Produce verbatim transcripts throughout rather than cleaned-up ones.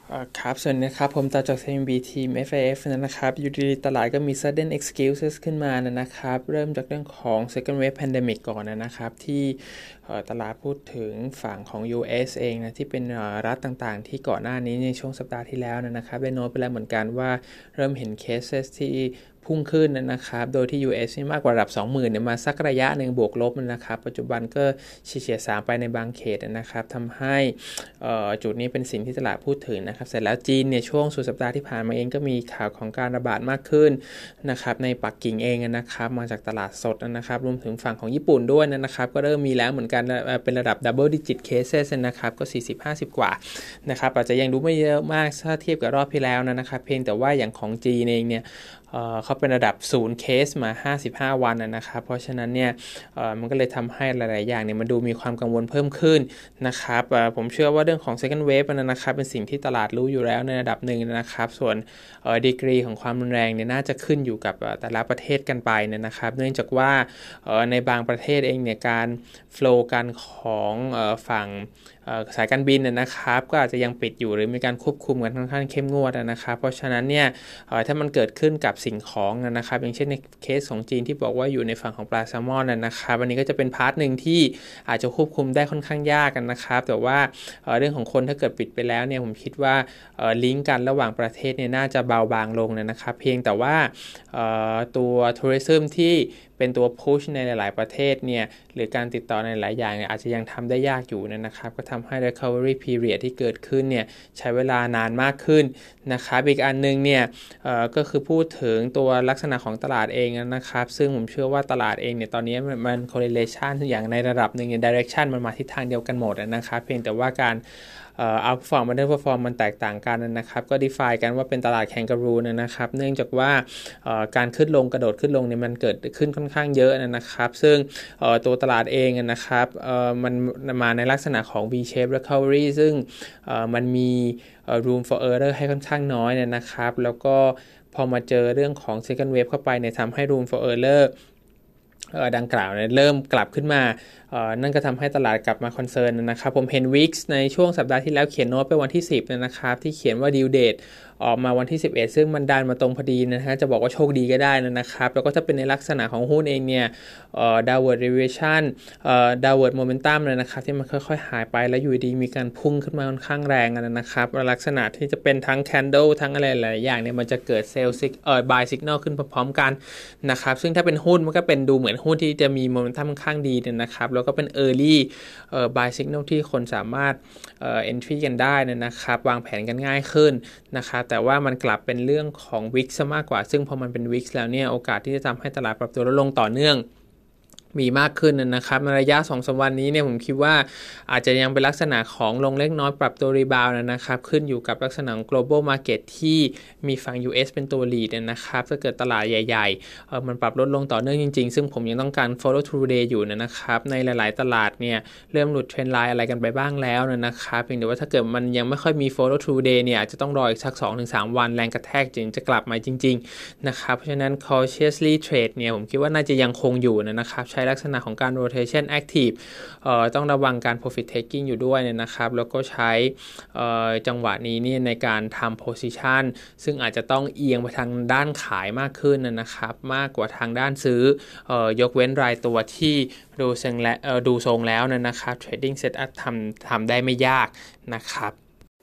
อ่าครับส่วนนะครับผมต่อจาก ซี เอ็ม บี ทีม เอฟ ไอ เอฟ นะครับอยู่ดีๆตลาดก็มี sudden excuses ขึ้นมานะครับเริ่มจากเรื่องของ second wave pandemic ก่อนนะครับที่ตลาดพูดถึงฝั่งของ ยู เอส เองนะที่เป็นรัฐต่างๆที่ก่อนหน้านี้ในช่วงสัปดาห์ที่แล้วนะครับได้โน้ตไปแล้วเหมือนกันว่าเริ่มเห็น cases ที่พุ่งขึ้นนะครับโดยที่ ยู เอส นี่มากกว่าระดับ สองหมื่น เนี่ยมาสักระยะหนึ่งบวกลบนะครับปัจจุบันก็เฉียดๆสามไปในบางเขตนะครับทำให้จุดนี้เป็นสิ่งที่ตลาดพูดถึงนะครับเสร็จแล้วจีนเนี่ยช่วงสุดสัปดาห์ที่ผ่านมาเองก็มีข่าวของการระบาดมากขึ้นนะครับในปักกิ่งเองนะครับมาจากตลาดสดนะครับรวมถึงฝั่งของญี่ปุ่นด้วยนะครับก็เริ่มมีแล้วเหมือนกันเป็นระดับ double digit cases นะครับก็ สี่สิบห้าสิบ กว่านะครับอาจจะยังดูไม่เยอะมากถ้าเทียบกับรอบที่แล้วนะครับเพียงแต่ว่าอย่างของจีนเองเนี่ยเอ่อเขาเป็นระดับศูนย์เคสมาห้าสิบห้าวันนะครับเพราะฉะนั้นเนี่ยเอ่อมันก็เลยทำให้หลายๆอย่างเนี่ยมันดูมีความกังวลเพิ่มขึ้นนะครับเอ่อผมเชื่อว่าเรื่องของ second wave นะครับเป็นสิ่งที่ตลาดรู้อยู่แล้วในระดับหนึ่งนะครับส่วนเอ่อดีกรีของความรุนแรงเนี่ยน่าจะขึ้นอยู่กับแต่ละประเทศกันไปนะครับเนื่องจากว่าเอ่อในบางประเทศเองเนี่ยการ flow กันของเอ่อฝั่งสายการบินนะครับก็อาจจะยังปิดอยู่หรือมีการควบคุมกันค่อนข้างเข้มงวดนะครับเพราะฉะนั้นเนี่ยถ้ามันเกิดขึ้นกับสิ่งของนะครับอย่างเช่นในเคสของจีนที่บอกว่าอยู่ในฝั่งของปลาแซลมอนนะครับอันนี้ก็จะเป็นพาร์ทหนึ่งที่อาจจะควบคุมได้ค่อนข้างยากกันนะครับแต่ว่าเรื่องของคนถ้าเกิดปิดไปแล้วเนี่ยผมคิดว่าลิงก์กันระหว่างประเทศเนี่ยน่าจะเบาบางลงนะครับเพียงแต่ว่าตัวทัวริซึมที่เป็นตัวพุชในหลายๆประเทศเนี่ยหรือการติดต่อในหลายอย่างเนี่ยอาจจะยังทำได้ยากอยู่นะครับก็ทำให้ recovery period ที่เกิดขึ้นเนี่ยใช้เวลานานมากขึ้นนะครับอีกอันนึงเนี่ยก็คือพูดถึงตัวลักษณะของตลาดเองนะครับซึ่งผมเชื่อว่าตลาดเองเนี่ยตอนนี้มัน correlation อย่างในระดับหนึ่งเนี่ย direction มันมาทิศทางเดียวกันหมดนะครับเพียงแต่ว่าการเอ่อ outperform underperform มันแตกต่างกันนะครับก็ define กันว่าเป็นตลาดแคนการูนะครับเนื่องจากว่าการขึ้นลงกระโดดขึ้นลงเนี่ยมันเกิดขึ้นค่อนข้างเยอะนะครับซึ่งตัวตลาดเองนะครับมันมาในลักษณะของ V-shape recovery ซึ่งมันมี room for error ให้ค่อนข้างน้อยนะครับแล้วก็พอมาเจอเรื่องของ second wave เข้าไปเนี่ยทำให้ room for errorดังกล่าวเนี่ยเริ่มกลับขึ้นมานั่นก็ทำให้ตลาดกลับมาคอนเซิร์นนะครับผมเห็น วี ไอ เอ็กซ์ ในช่วงสัปดาห์ที่แล้วเขียนโน้ตไปวันที่สิบนะครับที่เขียนว่า due date ออกมาวันที่สิบเอ็ดซึ่งมันดันมาตรงพอดีนะฮะจะบอกว่าโชคดีก็ได้นะครับแล้วก็ถ้าเป็นในลักษณะของหุ้นเองเนี่ย downward revision downward momentum นะครับที่มันค่อยๆหายไปแล้วอยู่ดีมีการพุ่งขึ้นมาค่อนข้างแรงนะครับลักษณะที่จะเป็นทั้ง candle ทั้งอะไรหลายอย่างเนี่ยมันจะเกิด sell sig เอ่อ buy signal ขึ้นพร้อมๆกันนะครับซึ่งถ้าเป็นหุ้นมันก็เป็นดูเหมือนหุ้นที่จะมีโมเมนตัมค่อนข้างดีนะครับแล้วก็เป็น early เอ่อ buy signal ที่คนสามารถเอ่อ entry กันได้นะครับวางแผนกันง่ายขึ้นนะครับแต่ว่ามันกลับเป็นเรื่องของ วี ไอ เอ็กซ์ ซะมากกว่าซึ่งพอมันเป็น วี ไอ เอ็กซ์ แล้วเนี่ยโอกาสที่จะทำให้ตลาดปรับตัวลดลงต่อเนื่องมีมากขึ้นนะครับในระยะ สองถึงสาม วันนี้เนี่ยผมคิดว่าอาจจะยังเป็นลักษณะของลงเล็กน้อยปรับตัวรีบาวด์นะครับขึ้นอยู่กับลักษณะของ global market ที่มีฝั่ง ยู เอส เป็นตัว lead นะครับถ้าเกิดตลาดใหญ่ๆเออมันปรับลดลงต่อเนื่องจริงๆซึ่งผมยังต้องการ follow through day อยู่นะครับในหลายๆตลาดเนี่ยเริ่มหลุดเทรนด์ไลน์อะไรกันไปบ้างแล้วนะครับเพียงแต่ว่าถ้าเกิดมันยังไม่ค่อยมี follow through day เนี่ยอาจจะต้องรออีกสัก สองถึงสาม วันแรงกระแทกจึงจะกลับมาจริงๆนะครับเพราะฉะนั้น cautiously trade เนี่ยผมคิดว่าน่าจะยังคงอยู่นะครับใช้ลักษณะของการ rotation active เอ่อต้องระวังการ profit taking อยู่ด้วยนะครับแล้วก็ใช้จังหวะนี้นี่ในการทำ position ซึ่งอาจจะต้องเอียงไปทางด้านขายมากขึ้นนะครับมากกว่าทางด้านซื้อเอ่อยกเว้นรายตัวที่ดูทรงและดูทรงแล้วนะครับ trading setup ทำทำได้ไม่ยากนะครับ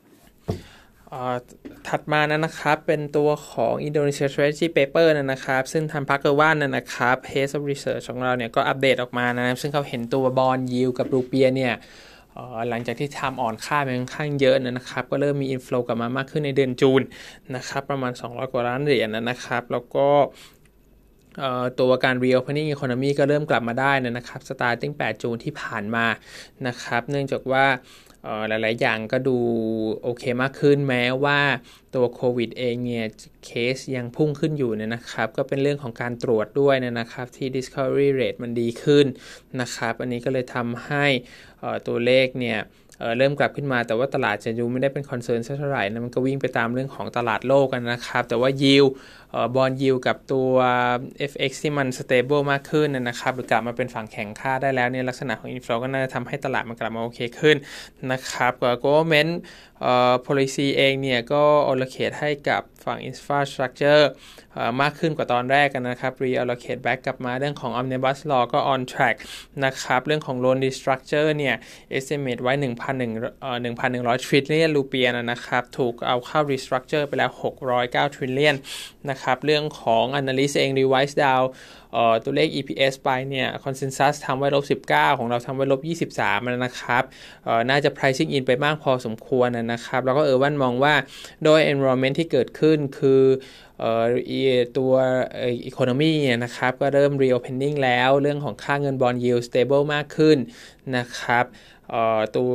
ถัดมานะครับเป็นตัวของ Indonesia Strategy Paper นะครับซึ่งทำพักเกอร์ว่านนะครับ Head of Research ของเราเนี่ยก็อัปเดตออกมานะซึ่งเขาเห็นตัวบอนด์ยิลด์กับรูเปียเนี่ยหลังจากที่ทำอ่อนค่าไปค่อนข้างเยอะนะครับก็เริ่มมีอินฟลูกลับมามากขึ้นในเดือนจูนนะครับประมาณสองร้อยกว่าล้านเหรียญนะครับแล้วก็ตัวการ reopening economy ก็เริ่มกลับมาได้นะครับ starting แปดจูนที่ผ่านมานะครับเนื่องจากว่าหลายๆอย่างก็ดูโอเคมากขึ้นแม้ว่าตัวโควิดเองเนี่ยเคสยังพุ่งขึ้นอยู่เนี่ยนะครับก็เป็นเรื่องของการตรวจด้วยนะครับที่ discovery rate มันดีขึ้นนะครับอันนี้ก็เลยทำให้ตัวเลขเนี่ยเอ่อเริ่มกลับขึ้นมาแต่ว่าตลาดจะดูไม่ได้เป็นคอนเซิร์นเท่าไหร่นะมันก็วิ่งไปตามเรื่องของตลาดโลกกันนะครับแต่ว่ายิลด์เอ่อบอนด์ยิลด์กับตัว เอฟ เอ็กซ์ ที่มัน stable มากขึ้นนะครับหรือกลับมาเป็นฝั่งแข็งค่าได้แล้วเนี่ยลักษณะของอินฟลูก็น่าจะทำให้ตลาดมันกลับมาโอเคขึ้นนะครับก็ government เอ่อ policy เองเนี่ยก็ allocate ให้กับฝั่ง infrastructure เอ่อมากขึ้นกว่าตอนแรกกันนะครับ reallocate back กลับมาเรื่องของ omnibus law ก็ on track นะครับเรื่องของ loan restructure เนี่ย estimate ไว้ หนึ่งพันหนึ่งร้อย เอ่อ หนึ่งพันหนึ่งร้อย trillion รูเปียนะครับถูกเอาเข้า restructure ไปแล้วหกร้อยเก้า trillion นะครับเรื่องของ analyst เอง revise down เอ่อตัวเลข อี พี เอส ไปเนี่ย consensus ทำไว้ลบสิบเก้าของเราทำไว้ลบยี่สิบสามนะครับเอ่อน่าจะ pricing in ไปมากพอสมควรนะครับแล้วก็เออวันมองว่าโดย environment ที่เกิดขึ้นคือเอ่อตัวเอ่อ economy นะครับก็เริ่ม reopening แล้วเรื่องของค่าเงิน bond yield stable มากขึ้นนะครับเอ่อตัว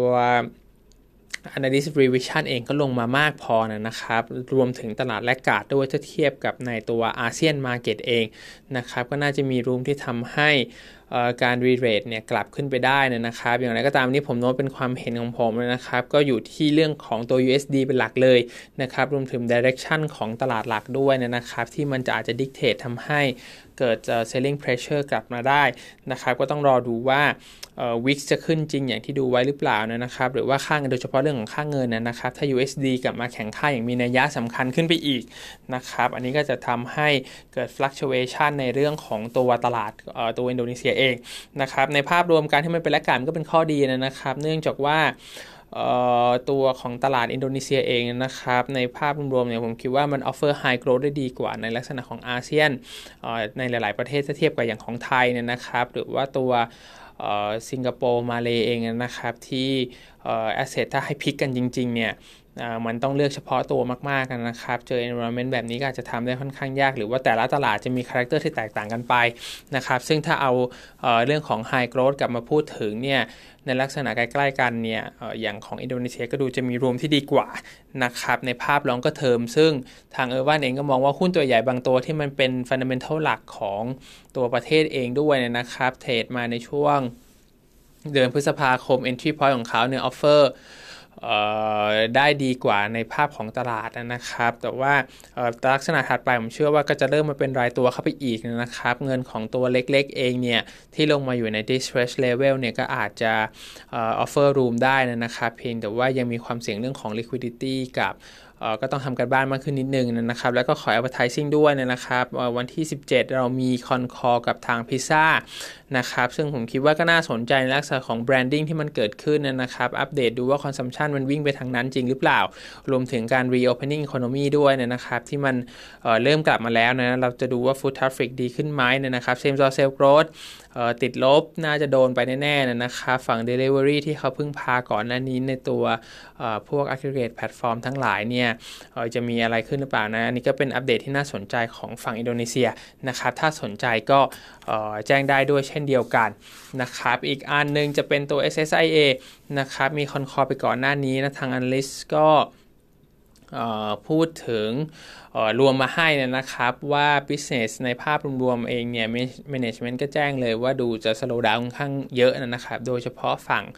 analyst revision เองก็ลงมามากพอนะครับรวมถึงตลาดแลกการ์ดด้วยถ้าเทียบกับในตัวอาเซียน market เองนะครับก็น่าจะมีรูมที่ทำให้การรีเรทเนี่ยกลับขึ้นไปได้นะครับอย่างไรก็ตามนี้ผมโน้ตเป็นความเห็นของผมนะครับก็อยู่ที่เรื่องของตัว ยู เอส ดี เป็นหลักเลยนะครับรวมถึง direction ของตลาดหลักด้วยนะครับที่มันจะอาจจะ dictate ทำให้เกิด selling pressure กลับมาได้นะครับก็ต้องรอดูว่าเอ่อ วี ไอ เอ็กซ์ จะขึ้นจริงอย่างที่ดูไว้หรือเปล่านะครับหรือว่าค่าเงินโดยเฉพาะเรื่องของค่าเงินนะครับถ้า ยู เอส ดี กลับมาแข็งค่าอย่างมีนัยยะสำคัญขึ้นไปอีกนะครับอันนี้ก็จะทำให้เกิด fluctuation ในเรื่องของตัวตลาดเอ่อตัวอินโดนีเซียเองนะครับในภาพรวมการที่มันเป็นแลกการ์ดก็เป็นข้อดีนะครับเนื่องจากว่าตัวของตลาดอินโดนีเซียเองนะครับในภาพรวมเนี่ยผมคิดว่ามัน offer high growth ได้ดีกว่าในลักษณะของอาเซียนในหลายๆประเทศถ้าเทียบกับอย่างของไทยเนี่ยนะครับหรือว่าตัวสิงคโปร์มาเลเองนะครับที่แอสเซทถ้าให้พิกกันจริงๆเนี่ยมันต้องเลือกเฉพาะตัวมากๆนะครับเจอ environment แบบนี้ก็อาจจะทำได้ค่อนข้างยากหรือว่าแต่ละตลาดจะมีคาแรคเตอร์ที่แตกต่างกันไปนะครับซึ่งถ้าเอาเอ่อเรื่องของ high growth กลับมาพูดถึงเนี่ยในลักษณะใกล้ๆกันเนี่ยเอ่ออย่างของอินโดนีเซียก็ดูจะมีรวมที่ดีกว่านะครับในภาพลองก็เทอมซึ่งทางเออร์วันเองก็มองว่าหุ้นตัวใหญ่บางตัวที่มันเป็น fundamental หลักของตัวประเทศเองด้วยนะครับเทรดมาในช่วงเดือนพฤษภาคม entry point ของเขาเนี่ย offerได้ดีกว่าในภาพของตลาดนะครับแต่ว่าลักษณะถัดไปผมเชื่อว่าก็จะเริ่มมาเป็นรายตัวเข้าไปอีกนะครับเงินของตัวเล็กๆเองเนี่ยที่ลงมาอยู่ใน distress level เนี่ยก็อาจจะ offer room ได้นะครับเพียงแต่ว่ายังมีความเสี่ยงเรื่องของ liquidity กับก็ต้องทำกันบ้านมากขึ้นนิดนึงนะครับแล้วก็ขอ advertising ด้วยนะครับวันที่สิบเจ็ดเรามีคอนคอลกับทางพิซซ่านะครับซึ่งผมคิดว่าก็น่าสนใจในลักษณะของ branding ที่มันเกิดขึ้นนะครับอัปเดตดูว่า consumption มันวิ่งไปทางนั้นจริงหรือเปล่ารวมถึงการ reopening economy ด้วยนะครับที่มัน เ, เริ่มกลับมาแล้วนะเราจะดูว่า foot traffic ดีขึ้นไหมนะครับ same store sales growthติดลบน่าจะโดนไปแน่ๆนะครับฝั่ง delivery ที่เขาพึ่งพาก่อนหน้านี้ในตัวพวก aggregate platform ทั้งหลายเนี่ยจะมีอะไรขึ้นหรือเปล่านะอันนี้ก็เป็นอัปเดตที่น่าสนใจของฝั่งอินโดนีเซียนะครับถ้าสนใจก็แจ้งได้ด้วยเช่นเดียวกันนะครับอีกอันนึงจะเป็นตัว เอส เอส ไอ เอ นะครับมีคอนคอลไปก่อนหน้านี้นะทาง analyst ก็พูดถึงรวมมาให้นะครับว่า business ในภาพรวมๆเองเนี่ย management ก็แจ้งเลยว่าดูจะ slow down ค่อนข้างเยอะนะครับโดยเฉพาะฝั่ง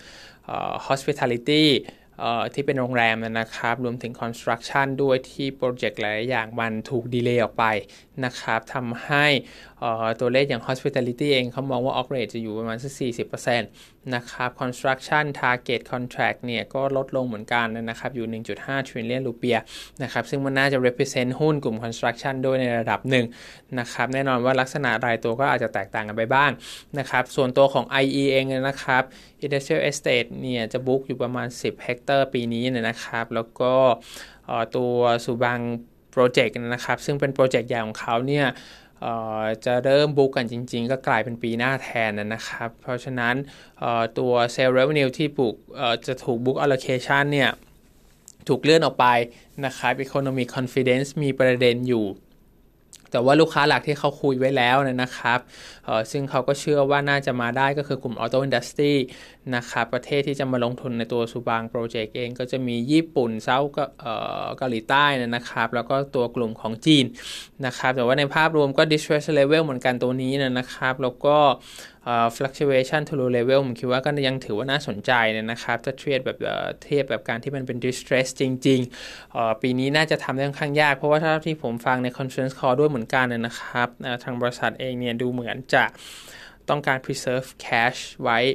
hospitalityที่เป็นโรงแรมนะครับรวมถึง construction ด้วยที่โปรเจกต์หลายอย่างมันถูกดีเลย์ออกไปนะครับทำให้ตัวเลขอย่าง hospitality เองเขามองว่า operate จะอยู่ประมาณสัก สี่สิบเปอร์เซ็นต์ นะครับ construction target contract เนี่ยก็ลดลงเหมือนกันนะครับอยู่ หนึ่งจุดห้า trillion รูเปียนะครับซึ่งมันน่าจะ represent หุ้นกลุ่ม construction ด้วยในระดับหนึ่งนะครับแน่นอนว่าลักษณะรายตัวก็อาจจะแตกต่างกันไปบ้างนะครับส่วนตัวของ ไอ อี เองนะครับ industrial estate เนี่ยจะบุ๊กอยู่ประมาณสิบเฮกเตอร์ปีนี้นะครับแล้วก็ตัวสุบังโปรเจกต์นะครับซึ่งเป็นโปรเจกต์ใหญ่ของเขาเนี่ยจะเริ่มบุ๊กกันจริงๆก็กลายเป็นปีหน้าแทนนะครับเพราะฉะนั้นตัว sale revenue ที่บุกจะถูก book allocation เนี่ยถูกเลื่อนออกไปนะครับ economic confidence มีประเด็นอยู่แต่ว่าลูกค้าหลักที่เขาคุยไว้แล้วนะครับซึ่งเขาก็เชื่อว่าน่าจะมาได้ก็คือกลุ่ม Auto Industry นะครับประเทศที่จะมาลงทุนในตัวซูบางโปรเจกต์เองก็จะมีญี่ปุ่นเซาท์เกาหลีใต้นะครับแล้วก็ตัวกลุ่มของจีนนะครับแต่ว่าในภาพรวมก็ distress level เหมือนกันตัวนี้นะครับแล้วก็fluctuation to low level ผมคิดว่าก็ยังถือว่าน่าสนใจนะครับถ้าเทียบแบบเทียบแบบการที่มันเป็น distress จริงๆปีนี้น่าจะทำได้ค่อนข้างยากเพราะว่าถ้าที่ผมฟังใน conference call ด้วยเหมือนกันนะครับทางบริษัทเองเนี่ยดูเหมือนจะต้องการ preserve cash ไว้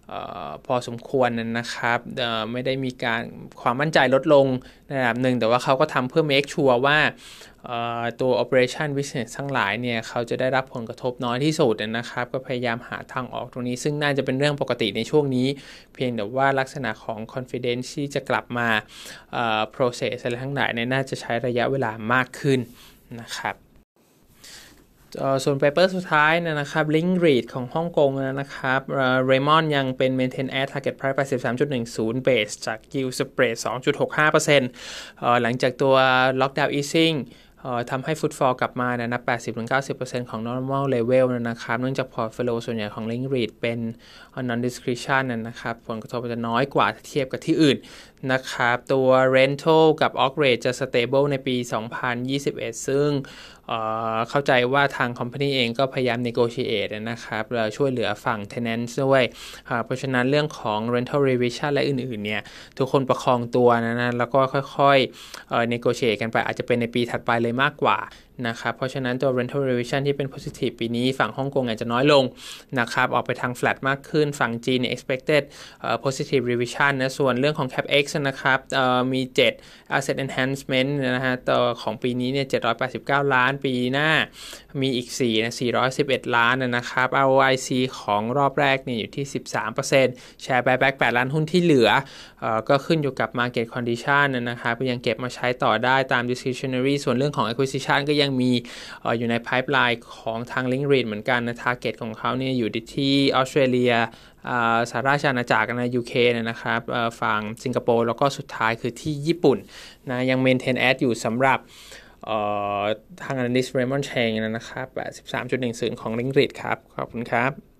พอสมควรนะครับไม่ได้มีการความมั่นใจลดลงในระดับหนึ่งแต่ว่าเขาก็ทำเพื่อ make sure ว่าตัว operation business ทั้งหลายเนี่ยเขาจะได้รับผลกระทบน้อยที่สุดนะครับก็พยายามหาทางออกตรงนี้ซึ่งน่าจะเป็นเรื่องปกติในช่วงนี้เพียงแต่ว่าลักษณะของ confidence ที่จะกลับมา process อะไรทั้งหลายเนี่ยน่าจะใช้ระยะเวลามากขึ้นนะครับส่วนเปเปอร์สุดท้ายนะครับ Link Read ของฮ่องกงนะครับ Raymond ยังเป็น Maintain at Target Price แปดสิบสามจุดหนึ่งศูนย์ Base จาก Yield Spread สองจุดหกห้าเปอร์เซ็นต์ หลังจากตัว Lockdown Easingทำให้ Footfall กลับมานะ แปดสิบถึงเก้าสิบเปอร์เซ็นต์ ของ Normal Level นะครับเนื่องจาก Portfolio ส่วนใหญ่ของ Link Read เป็น Non-Discretion นะครับผลกระทบจะน้อยกว่าเทียบกับที่อื่นนะครับตัว Rental กับ Occ Rate จะ Stable ในปี สองพันยี่สิบเอ็ด ซึ่งเข้าใจว่าทาง Company เองก็พยายาม Negotiate นะครับช่วยเหลือฝั่ง Tenants ด้วยเพราะฉะนั้นเรื่องของ Rental Revision และอื่นๆเนี่ยทุกคนประคองตัวนะนะแล้วก็ค่อยๆ Negotiate กันไปอาจจะเป็นในปีถัดไปเลยมากกว่านะครับเพราะฉะนั้นตัว rental revision ที่เป็น positive ปีนี้ฝั่งฮ่องกงอาจจะน้อยลงนะครับออกไปทาง flat มากขึ้นฝั่งจีน expected uh, positive revision นะส่วนเรื่องของ capex นะครับมี เจ็ด asset enhancement นะฮะต่อของปีนี้เนี่ยเจ็ดร้อยแปดสิบเก้าล้านปีหน้ามีอีกสี่นะสี่ร้อยสิบเอ็ดล้านนะครับ อาร์ โอ ไอ ซี ของรอบแรกเนี่ยอยู่ที่ สิบสามเปอร์เซ็นต์ share buyback แปดล้านหุ้นที่เหลือเอ่อก็ขึ้นอยู่กับ market condition นะครับยังเก็บมาใช้ต่อได้ตาม discretionary ส่วนเรื่องของ acquisition ก็ยังมีเอ่ออยู่ใน pipeline ของทาง Link Read เหมือนกันนะ target ของเขาเนี่ยอยู่ที่ออสเตรเลียสหราชอาณาจักรนะ ยู เค นะครับฝั่งสิงคโปร์แล้วก็สุดท้ายคือที่ญี่ปุ่นนะยัง maintain at อยู่สำหรับทาง analyst Raymond Cheng นะครับ แปดสิบสามจุดหนึ่งศูนย์ ของ Link Read ครับขอบคุณครับ